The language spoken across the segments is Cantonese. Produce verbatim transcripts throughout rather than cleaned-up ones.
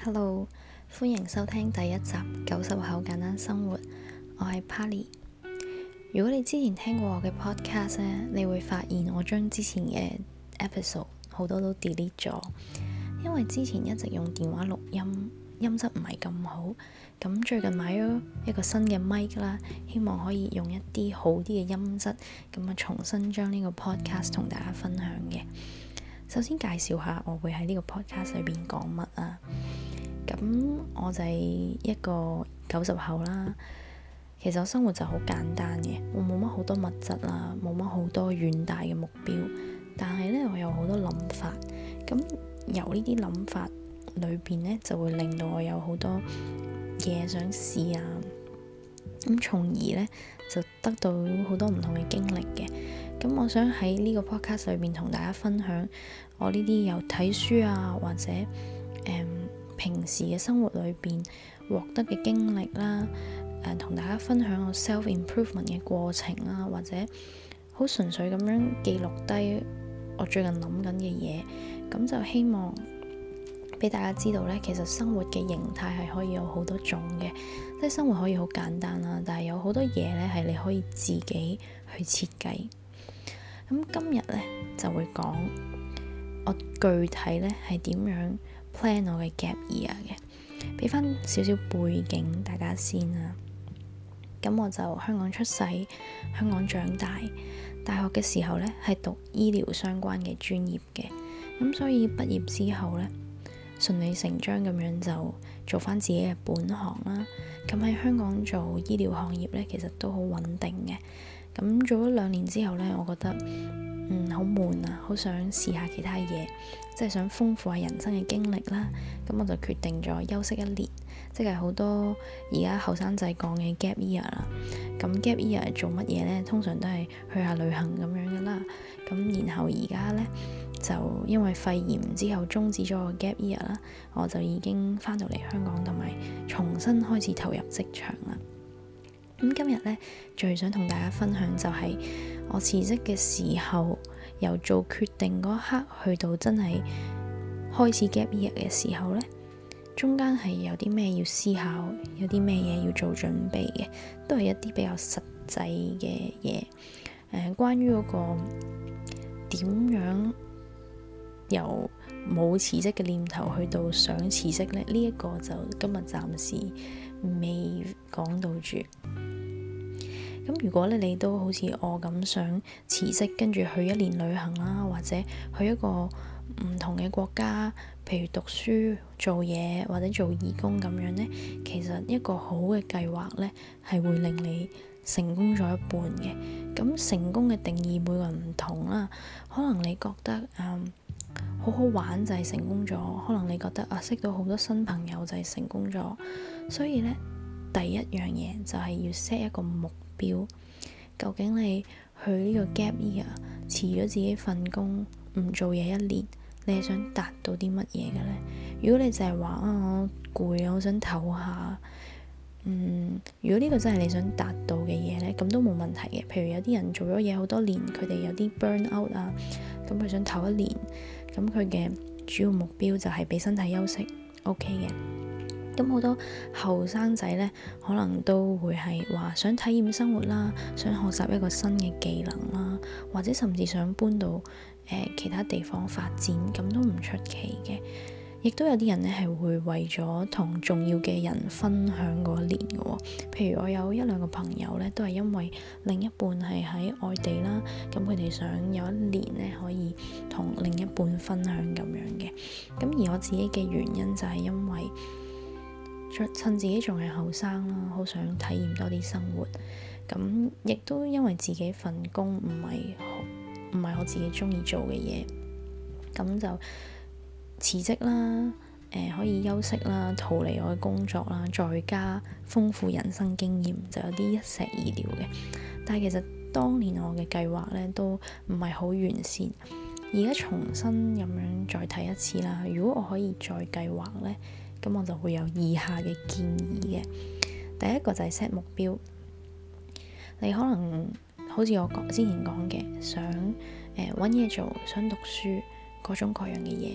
Hello，歡迎收聽第一集九十後簡單生活，我係 Pally。如果你之前聽過我嘅 podcast 咧，你會發現我將之前嘅 episode 好多都 delete 咗，因為之前一直用電話錄音，音質唔係咁好。咁最近買咗一個新嘅 mic 啦，希望可以用一啲好啲嘅音質，咁啊重新將呢個 podcast 同大家分享嘅。首先介紹下我會喺呢個 podcast 裏邊講乜啊。咁我就係一個九十後啦。其實我生活就好簡單嘅，我冇乜好多物質啦，冇乜好多遠大嘅目標，但係呢，我有好多諗法。咁由呢啲諗法裏邊呢，就會令到我有好多嘢想試啊。咁從而呢，就得到好多唔同嘅經歷嘅。咁我想喺呢個 podcast 裏邊同大家分享我呢啲有睇書啊，或者誒、嗯、平時嘅生活裏邊獲得嘅經歷啦，誒、呃、同大家分享我 self improvement 嘅過程啦，或者好純粹咁樣記錄低我最近諗緊嘅嘢，咁就希望俾大家知道呢，其實生活嘅形態係可以有好多種嘅，即係生活可以好簡單啦，但係有好多嘢呢係你可以自己去設計。咁今日呢，就會講我具體呢係點樣 plan 我嘅 gap year 嘅，俾翻少少背景大家先啦。咁我就香港出世，香港長大，大學嘅時候呢係讀醫療相關嘅專業嘅，咁所以畢業之後呢，順理成章咁樣就做翻自己嘅本行啦。咁喺香港做醫療行業呢，其實都好穩定嘅。咁做咗兩年之後呢，我覺得嗯好悶啊，好想試下其他嘢，即係想豐富下人生嘅經歷啦。咁我就決定咗休息一年，即係好多而家後生仔講嘅 gap year 啦。咁 gap year 做乜嘢呢？通常都係去下旅行咁樣噶啦。咁然後而家呢，就因為肺炎之後終止咗個 gap year 啦，我就已經翻到嚟香港，同埋重新開始投入職場啦。咁今日呢，最想同大家分享就係我辭職嘅時候，由做決定嗰一刻去到真係開始 gap year 嘅時候呢，中間係有啲咩要思考，有啲咩嘢要做準備嘅，都係一啲比較實際嘅嘢。誒、呃，關於嗰個點樣由冇辭職嘅念頭去到想辭職呢，呢、這、一個就今日暫時未講到住。咁如果咧你都好似我咁想辭職，跟住去一年旅行啦，或者去一個唔同嘅國家，譬如讀書、做嘢或者做義工咁樣呢，其實一個好嘅計劃呢，係會令你成功咗一半嘅。咁成功嘅定義每個人唔同啦，可能你覺得嗯好好玩就係成功咗，可能你覺得啊識到好多新朋友就係成功咗。所以呢，第一樣嘢就係要 set 一個目標，究竟你去呢個 gap year 辭咗自己份工，唔做嘢一年，你係想達到啲乜嘢嘅呢？如果你就係話啊我攰啊，我想唞下，嗯，如果呢個真係你想達到嘅嘢呢，咁都冇問題嘅。譬如有啲人做咗嘢好多年，佢哋有啲 burn out 啊，咁佢想唞一年，咁佢嘅主要目標就係俾身體休息 OK 嘅。咁好多後生仔呢，可能都會係話想體驗生活啦，想學習一個新嘅技能啦，或者甚至想搬到誒、呃、其他地方發展，咁都唔出奇嘅。亦都有啲人呢係會為咗同重要嘅人分享嗰一年嘅喎。譬如我有一兩個朋友呢，都係因為另一半係喺外地啦，咁佢哋想有一年呢可以同另一半分享咁樣嘅。咁而我自己嘅原因就係因為趁自己仲係後生啦，好想體驗多啲生活。咁亦都因為自己份工唔係唔係我自己中意做嘅嘢，咁就辭職啦。誒、呃，可以休息啦，逃離我嘅工作啦，再加豐富人生經驗，就有啲一石二鳥嘅。但係其實當年我嘅計劃咧都唔係好完善，而家重新咁樣再睇一次啦。如果我可以再計劃咧，咁我就會有以下嘅建議嘅。第一個就係 set 目標，你可能好似我講之前講嘅，想誒揾嘢做，想讀書，各種各樣嘅嘢。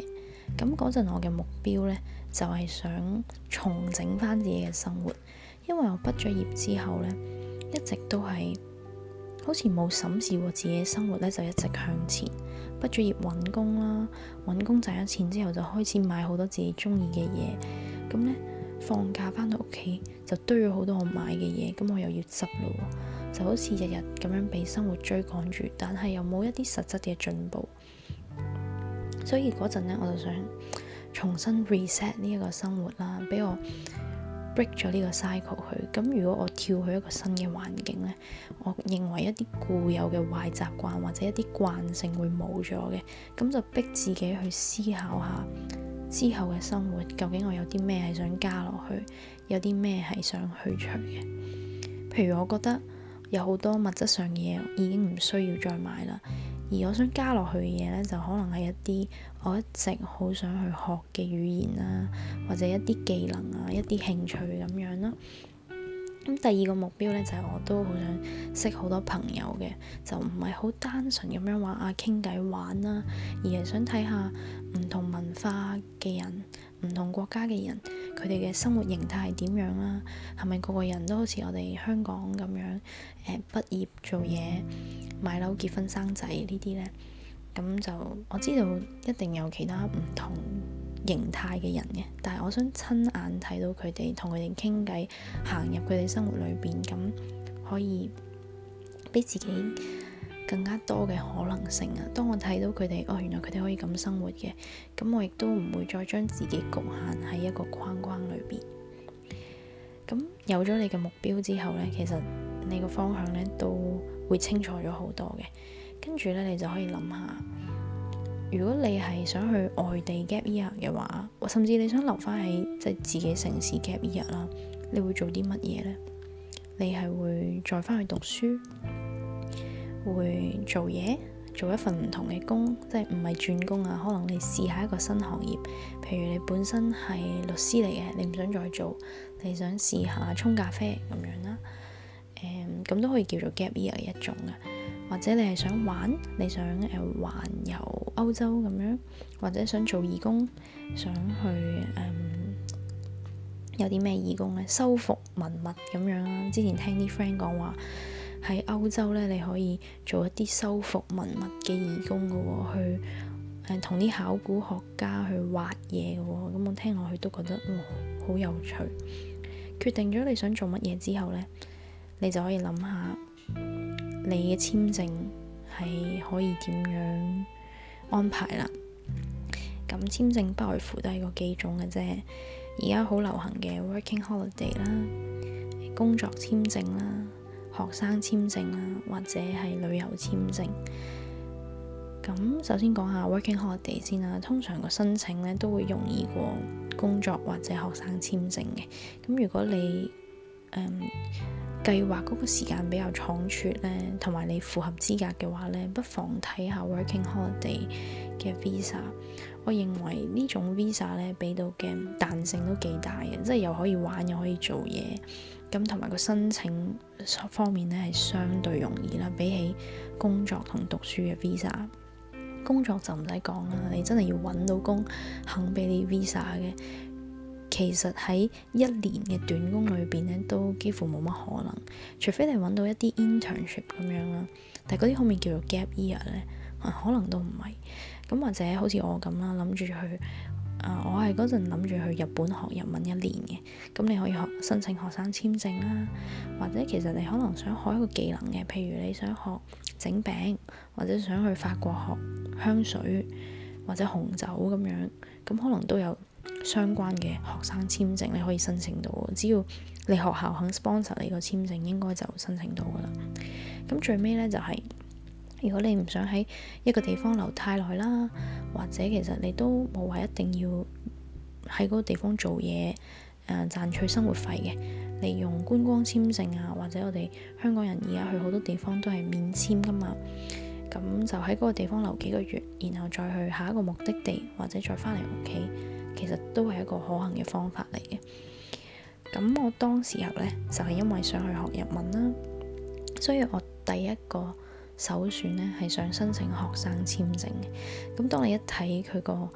咁嗰陣我嘅目標呢，就係想重整翻自己嘅生活，因為我畢咗業之後呢，一直都係好似冇審視過自己嘅生活呢，就一直向前。畢咗業揾工啦，揾工賺咗錢之後就開始買好多自己中意嘅嘢，咁呢，放假翻到屋企就堆咗好多我買嘅嘢，咁我又要執咯，就好似日日咁樣被生活追趕住，但係又冇一啲實質嘅進步。所以嗰陣呢，我就想重新 reset 呢一個生活啦，俾我 break 咗呢個 cycle 去。咁如果我跳去一個新嘅環境呢，我認為一啲固有嘅壞習慣或者一啲慣性會冇咗嘅，咁就逼自己去思考下之後嘅生活究竟我有啲咩係想加落去，有啲咩係想去除嘅。譬如我覺得有好多物質上嘅嘢已經唔需要再買啦，而我想加落去嘅嘢呢，就可能係一啲我一直好想去學嘅語言啦，或者一啲技能啊，一啲興趣咁樣啦。咁第二個目標呢，就係我都好想識好多朋友嘅，就唔係好單純咁樣話啊傾偈玩啦，而係想睇下唔同文化嘅人、唔同國家嘅人，佢哋嘅生活形態係點樣啦？係咪個個人都好似我哋香港咁樣誒畢業做嘢、買樓、結婚、生仔呢啲呢？咁就我知道一定有其他唔同形態嘅人嘅，但係我想親眼睇到佢哋，同佢哋傾偈，行入佢哋生活裏邊，咁可以俾自己更加多嘅可能性啊！當我睇到佢哋，哦，原來佢哋可以咁生活嘅，咁我亦都唔會再將自己局限喺一個框框裏邊。咁有咗你嘅目標之後呢，其實你個方向呢都會清楚咗好多嘅。跟住呢，你就可以諗下，如果你係想去外地 gap year 嘅話，甚至你想留翻喺即係自己城市 gap year 啦，你會做啲乜嘢呢？你係會再翻去讀書，會做嘢，做一份唔同嘅工，即係唔係轉工啊？可能你試下一個新行業，譬如你本身係律師嚟嘅，你唔想再做，你想試下沖咖啡咁樣啦。誒、嗯，咁都可以叫做 gap year 一種啊。或者你係想玩，你想誒、呃、環遊歐洲咁樣，或者想做義工，想去誒、嗯、有啲咩義工咧？修復文物咁樣啦。之前聽啲 friend 講話喺歐洲咧，你可以做一啲修復文物嘅義工嘅喎，去誒同啲考古學家去挖嘢嘅喎。咁我聽落去都覺得哇好有趣。決定咗你想做乜嘢之後咧，你就可以諗下。你嘅簽證係可以點樣安排啦？咁簽證不外乎都係個幾種嘅啫。而家好流行嘅 working holiday 啦、工作簽證啦、學生簽證啦，或者係旅遊簽證。咁首先講下 working holiday 先啦。通常個申請咧都會容易過工作或者學生簽證嘅。咁如果你誒、um, 計劃嗰個時間比較倉促咧，同埋你符合資格嘅話咧，不妨睇下 working holiday 嘅 visa。我認為呢種 visa 咧俾到嘅彈性都幾大嘅，即係又可以玩又可以做嘢，咁同埋個申請方面咧係相對容易啦，比起工作同讀書嘅 visa。工作就唔使講啦，你真係要揾到工肯俾你 visa 嘅。其實喺一年嘅短工裏邊咧，都幾乎冇乜可能，除非你揾到一啲 internship 咁樣啦。但係嗰啲可唔可以叫做 gap year 咧？可能都唔係。咁或者好似我咁啦，諗住去啊、呃，我係嗰陣諗住去日本學日文一年嘅。咁你可以學申請學生簽證啦，或者其實你可能想學一個技能嘅，譬如你想學整餅，或者想去法國學香水或者紅酒咁樣，咁可能都有相關嘅學生簽證你可以申請到，只要你學校肯 sponsor 你個簽證，應該就申請到噶啦。咁最尾呢，就係、是，如果你唔想喺一個地方留太耐啦，或者其實你都冇話一定要喺嗰個地方做嘢誒賺取生活費嘅，你用觀光簽證啊，或者我哋香港人而家去好多地方都係免簽噶嘛。咁就喺嗰個地方留幾個月，然後再去下一個目的地，或者再翻嚟屋企。其實都係一個可行嘅方法嚟嘅。咁我當時候呢，就係、是、因為想去學日文啦，所以我第一個首選呢係想申請學生簽證嘅。咁當你一睇佢個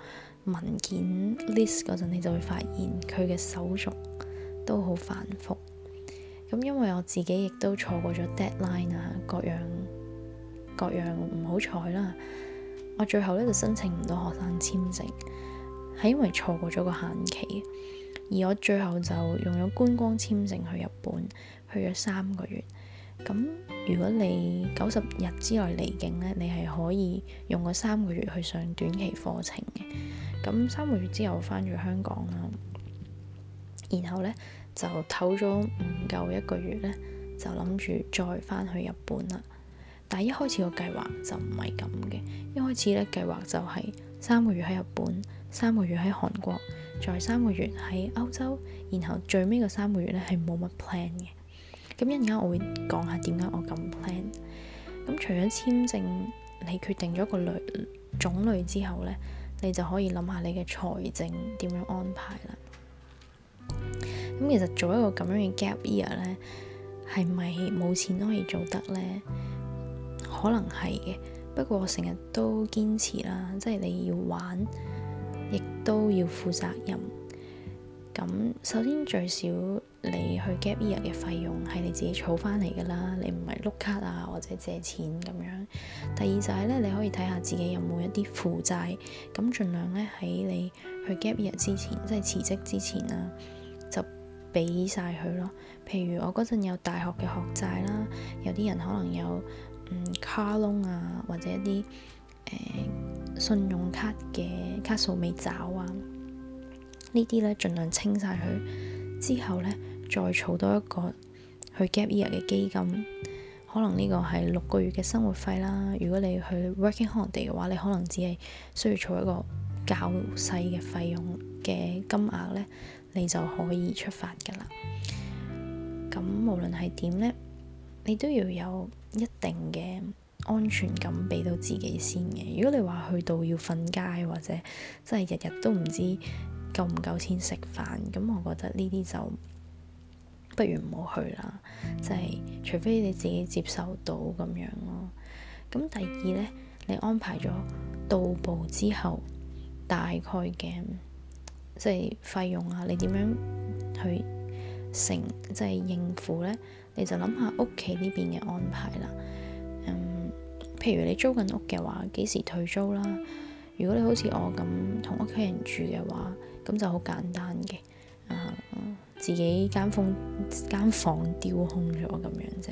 文件 list 嗰陣，你就會發現佢嘅手續都好繁複。咁因為我自己亦都錯過咗 deadline 啊，各樣各樣唔好彩啦，我最後咧就申請唔到學生簽證，係因為錯過咗個限期。而我最後就用咗觀光簽證去日本，去咗三個月。咁如果你九十日之內離境咧，你係可以用個三個月去上短期課程嘅。咁三個月之後翻咗香港啦，然後咧就唞咗唔夠一個月咧，就諗住再翻去日本啦。但係一開始個計劃就唔係咁嘅，一開始咧計劃就係三個月喺日本，三個月喺韓國，再三個月喺歐洲，然後最尾個三個月咧係冇乜 plan 嘅。咁一陣間我會講下點解我咁 plan。咁除咗簽證，你決定咗個類種類之後咧，你就可以諗下你嘅財政點樣安排啦。咁其實做一個咁樣嘅 gap year 咧，係咪冇錢都可以做得咧？可能係嘅，不過我成日都堅持啦，即係你要玩，亦都要負責任。咁首先最少你去 gap year 嘅費用係你自己儲翻嚟㗎啦，你唔係碌卡啊或者借錢咁樣。第二就係咧，你可以睇下自己有冇一啲負債，咁盡量咧喺你去 gap year 之前，即係辭職之前啊，就俾晒佢咯。譬如我嗰陣有大學嘅學債啦，有啲人可能有嗯 car loan 啊，或者一啲誒、呃、信用卡嘅卡數未找啊，呢啲咧盡量清晒佢，之後咧再儲多一個去 gap year 嘅基金，可能呢個係六個月嘅生活費啦。如果你去 working holiday 嘅話，你可能只係需要儲一個較細嘅費用嘅金額咧，你就可以出發㗎啦。咁無論係點咧，你都要有一定嘅安全感俾到自己先嘅。如果你話去到要瞓街，或者真係日日都唔知夠唔夠錢食飯，咁我覺得呢啲就不如唔好去啦。即係除非你自己接受到咁樣咯。咁第二呢，你安排咗到步之後大概嘅即係費用啊，你點樣去成即係應付呢？你就諗下屋企呢邊嘅安排啦。嗯，譬如你租緊屋嘅話，幾時退租啦？如果你好似我咁同屋企人住嘅話，咁就好簡單嘅，啊，自己間房間房丟空咗咁樣啫。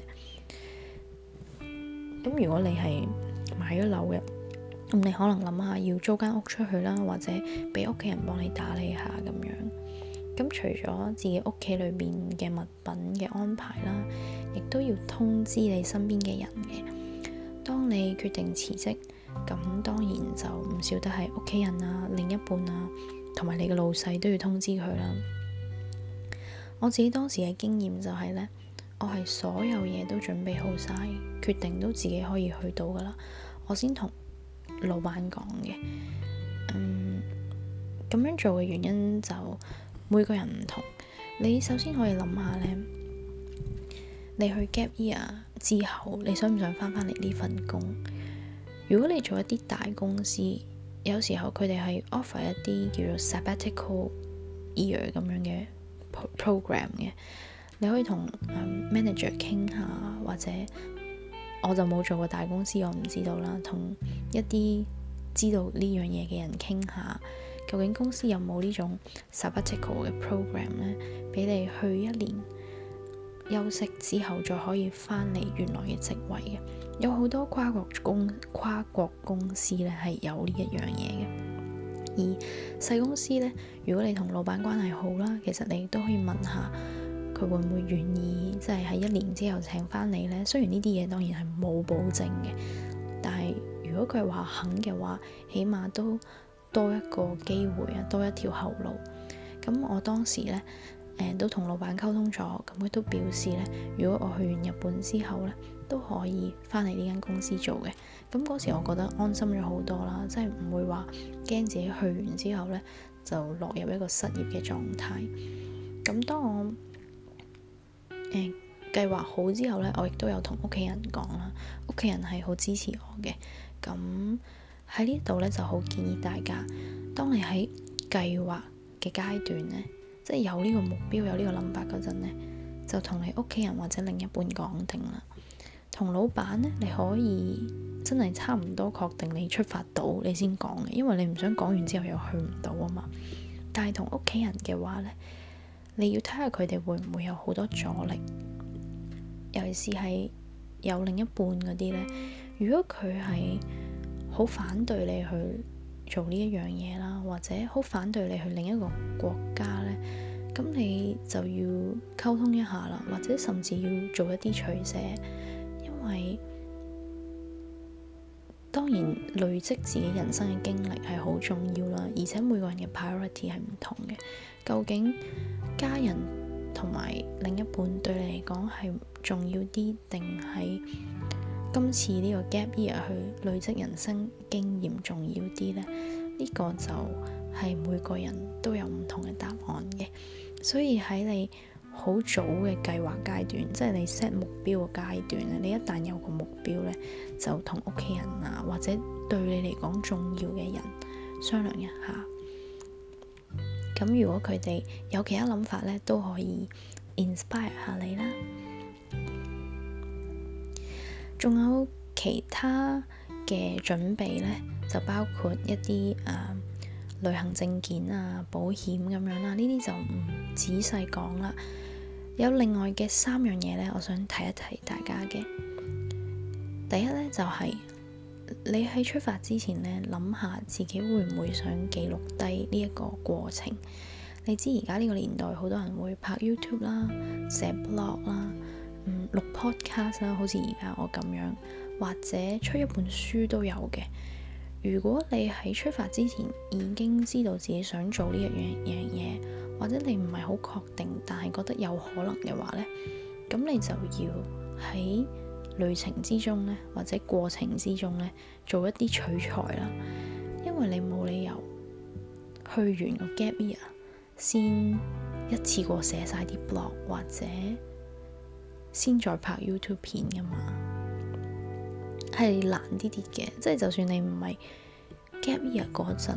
咁如果你係買咗樓嘅，咁你可能諗下要租間屋出去啦，或者俾屋企人幫你打理下咁樣。咁除咗自己屋企裏邊嘅物品嘅安排啦，亦都要通知你身邊嘅人嘅。當你決定辭職，咁當然就唔少得係屋企人啊、另一半啊，同埋你嘅老細都要通知佢啦。我自己當時嘅經驗就係呢，我係所有嘢都準備好晒，決定都自己可以去到噶啦，我先同老闆講嘅。嗯，咁樣做嘅原因就每個人唔同。你首先可以諗下呢，你去 gap year 之後，你想唔想翻返嚟呢份工？如果你做一啲大公司，有時候佢哋係 offer 一啲叫做 sabbatical year 咁樣嘅 program 嘅，你可以同、um, manager 傾下，或者我就冇做過大公司，我唔知道啦。同一啲知道呢樣嘢嘅人傾下，究竟公司有冇呢種 sabbatical 嘅 program 呢？俾你去一年休息之後，再可以翻嚟原來嘅職位嘅。有好多跨國公跨國公司咧係有呢一樣嘢嘅。而細公司呢，如果你同老闆關係好啦，其實你都可以問下佢會唔會願意，即係喺一年之後請翻你呢。雖然呢啲嘢當然係冇保證嘅，但係如果佢話肯嘅話，起碼都多一個機會啊，多一條後路。咁我當時呢，誒、呃、都同老闆溝通咗，咁佢都表示呢，如果我去完日本之後呢，都可以翻嚟呢間公司做嘅。咁嗰時我覺得安心咗好多啦，即係唔會話驚自己去完之後呢就落入一個失業嘅狀態。咁當我誒計劃好之後呢，我亦都有同屋企人講啦，屋企人係好支持我嘅。咁喺呢度咧就好建議大家，當你喺計劃嘅階段咧，即係有呢個目標、有呢個諗法嗰陣咧，就同你屋企人或者另一半講定啦。同老闆咧，你可以真係差唔多確定你出發到你先講嘅，因為你唔想講完之後又去唔到啊嘛。但係同屋企人嘅話咧，你要睇下佢哋會唔會有好多阻力，尤其是係有另一半嗰啲咧。如果佢係好反對你去做呢一樣嘢啦，或者好反對你去另一個國家咧，咁你就要溝通一下啦，或者甚至要做一啲取捨，因為當然累積自己人生嘅經歷係好重要啦，而且每個人嘅 priority 係唔同嘅。究竟家人同埋另一半對你嚟講係重要啲，定係今次呢個 gap year 去累積人生經驗重要啲呢？呢個就係每個人都有唔同嘅答案嘅。所以喺你好早嘅計劃階段，即係你 set 目標嘅階段咧，你一旦有個目標呢，就同屋企人啊，或者對你嚟講重要嘅人商量一下。咁如果佢哋有其他諗法呢，都可以 inspire 下你啦。仲有其他嘅準備呢，就包括一啲誒、呃、旅行證件啊、保險咁樣啦，呢啲就唔仔細講啦。有另外嘅三樣嘢呢，我想提一提大家嘅。第一呢，就係、是、你喺出發之前呢，諗下自己會唔會想記錄低呢一個過程。你知而家呢個年代好多人會拍 YouTube 啦、寫 blog 啦、嗯、錄 podcast 啦，好似而家我咁樣，或者出一本書都有嘅。如果你喺出發之前已經知道自己想做呢一樣樣嘢，或者你唔係好確定，但係覺得有可能嘅話呢，咁你就要喺旅程之中呢，或者過程之中呢，做一啲取材啦。因為你冇理由去完個 gap year 先一次過寫晒啲 blog，或者先再拍 YouTube 片噶嘛，係難啲啲嘅。即係就算你唔係 gap year 嗰陣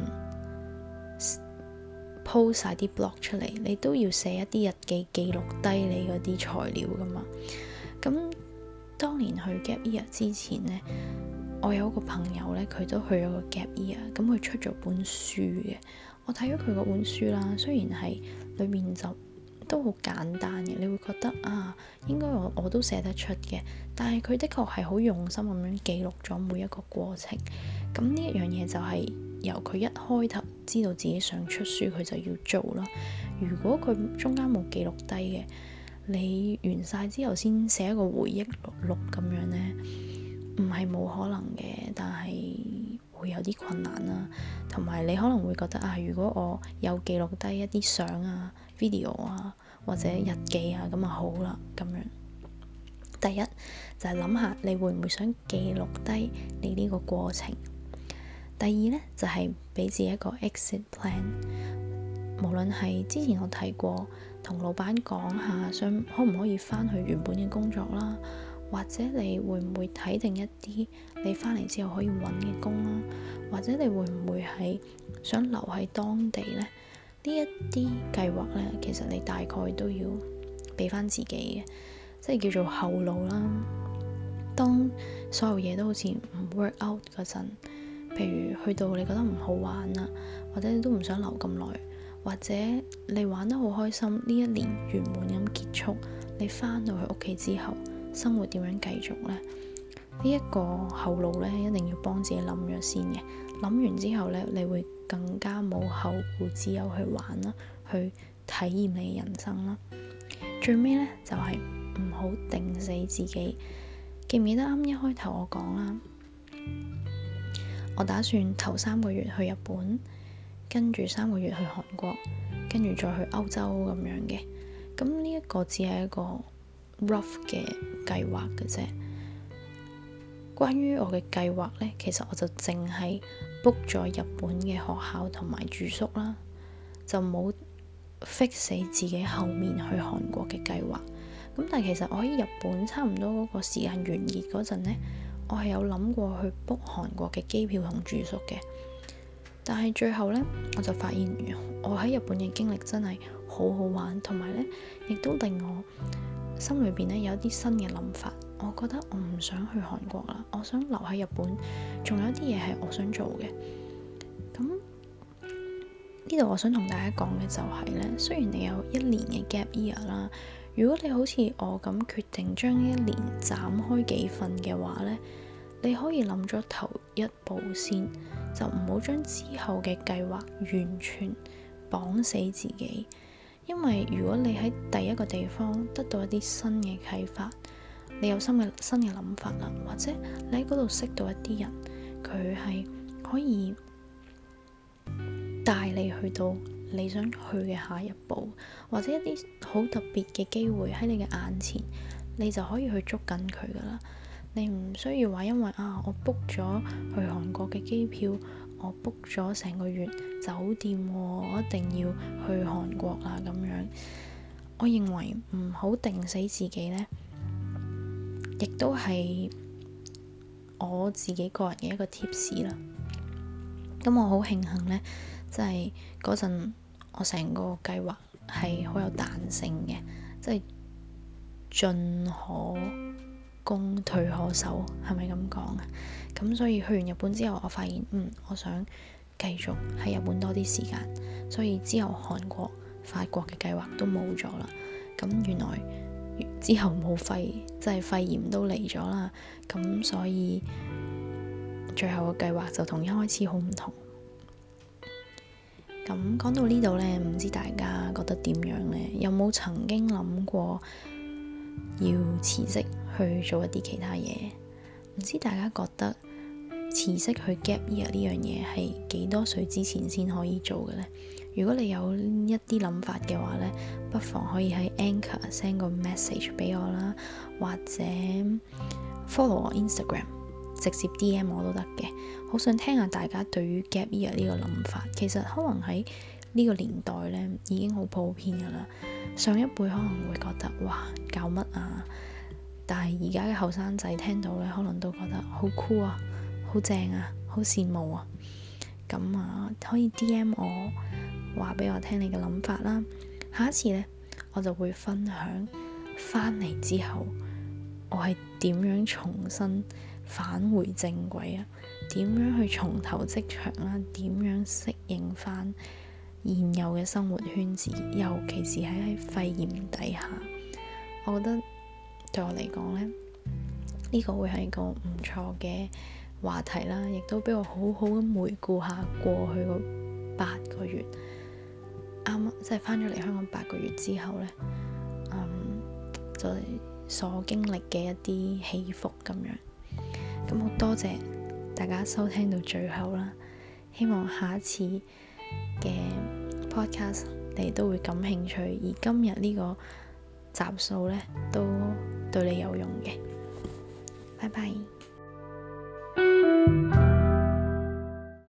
po 晒啲 blog 出嚟，你都要寫一啲日記記錄低你嗰啲材料噶嘛。咁當年去 gap year 之前呢，我有個朋友呢，佢都去咗個 gap year，咁佢出咗本書嘅。我睇咗佢嗰本書啦，雖然係裏面就都好簡單嘅，你會覺得啊，應該我我都寫得出嘅。但係佢的確係好用心咁樣記錄咗每一個過程。咁呢一樣嘢就係由佢一開頭知道自己想出書，佢就要做啦。如果佢中間冇記錄低嘅，你完晒之後先寫一個回憶錄咁樣呢，唔係冇可能嘅，但係會有啲困難啦。同埋你可能會覺得啊，如果我有記錄低一啲相啊、video 啊或者日記啊，咁啊好啦咁樣。第一就係諗下你會唔會想記錄低你呢個過程。第二呢，就係俾自己一個 exit plan。無論係之前我提過同老闆講下，想可唔可以翻去原本嘅工作啦，或者你會唔會睇定一啲你翻嚟之後可以揾嘅工啦，或者你會唔會係想留喺當地呢？呢一啲計劃呢，其實你大概都要俾翻自己嘅，即係叫做後路啦。當所有嘢都好似唔 work out 嗰陣，譬如去到你覺得唔好玩啦，或者你都唔想留咁耐，或者你玩得好開心，呢一年圓滿咁結束，你翻到去屋企之後，生活點樣繼續呢？呢、這、一個後路呢，一定要幫自己諗咗先嘅。諗完之後呢，你會更加冇後顧之憂去玩啦，去體驗你人生啦。最尾呢，就係唔好定死自己。記唔記得啱一開頭我講啦？我打算頭三個月去日本，跟住三個月去韓國，跟住再去歐洲咁樣嘅。咁呢一個只係一個 rough 嘅計劃嘅啫。關於我嘅計劃呢，其實我就淨係 book 咗日本嘅學校同埋住宿啦，就冇 fix 死自己後面去韓國嘅計劃。咁但係其實我喺日本差唔多嗰個時間完結嗰陣呢， 我係有諗過去 book 韓國嘅機票同住宿嘅，但係最後呢，我就發現我喺日本嘅經歷真係好好玩，同埋呢亦都令我心裏邊呢有一啲新嘅諗法。我覺得我唔想去韓國啦，我想留喺日本，仲有啲嘢係我想做嘅。咁呢度我想同大家講嘅就係呢，雖然你有一年嘅 gap year 啦，如果你好似我咁決定將呢一年斬開幾份嘅話呢，你可以諗咗頭一步先，就唔好將之後嘅計劃完全綁死自己。因為如果你喺第一個地方得到一啲新嘅啟發，你有新嘅新嘅諗法啦，或者你喺嗰度識到一啲人，佢係可以帶你去到你想去嘅下一步，或者一啲好特別嘅機會喺你嘅眼前，你就可以去捉緊佢噶啦。你唔需要話因為啊，我 book 咗去韓國嘅機票，我 book 咗成個月酒店喎，我一定要去韓國啦咁樣。我認為唔好定死自己呢，亦都係我自己個人嘅一個 tips 啦。咁我好慶幸呢，即係嗰陣我成個計劃係好有彈性嘅，即係進可攻退可守，係咪咁講啊？咁所以去完日本之後，我發現嗯，我想繼續喺日本多啲時間，所以之後韓國、法國嘅計劃都冇咗啦。咁原來之後冇肺，即係肺炎都嚟咗啦。咁所以最後嘅計劃就同一開始好唔同。咁講到呢度呢，唔知大家覺得點樣呢？有冇曾經諗過要辭職去做一啲其他嘢？唔知大家覺得辭職去 gap year 呢樣嘢係幾多歲之前先可以做嘅呢？如果你有一啲諗法嘅話呢，不妨可以喺 Anchor send 個 message 俾我啦，或者 follow 我 Instagram， 直接 D M 我都得嘅。好想聽下大家對於 gap year 呢個諗法。其實可能喺呢個年代呢已經好普遍噶啦，上一輩可能會覺得哇，搞乜啊，但係而家嘅後生仔聽到呢，可能都覺得好酷啊，好正啊，好羨慕啊。咁啊，可以 D M 我，話俾我聽你嘅諗法啦。下一次呢，我就會分享翻嚟之後我係點樣重新返回正軌啊，點樣去重投職場啦，點樣適應翻現有嘅生活圈子，尤其是喺喺肺炎底下。我覺得對我嚟講呢，呢個會係一個唔錯嘅話題啦，亦都俾我好好咁回顧下過去嗰八個月，啱即係翻咗嚟香港八個月之後呢，嗯，就係所經歷嘅一啲起伏咁樣。咁好多謝大家收聽到最後啦，希望下一次嘅 podcast 你都會感興趣，而今日呢個集數呢都對你有用嘅。拜拜。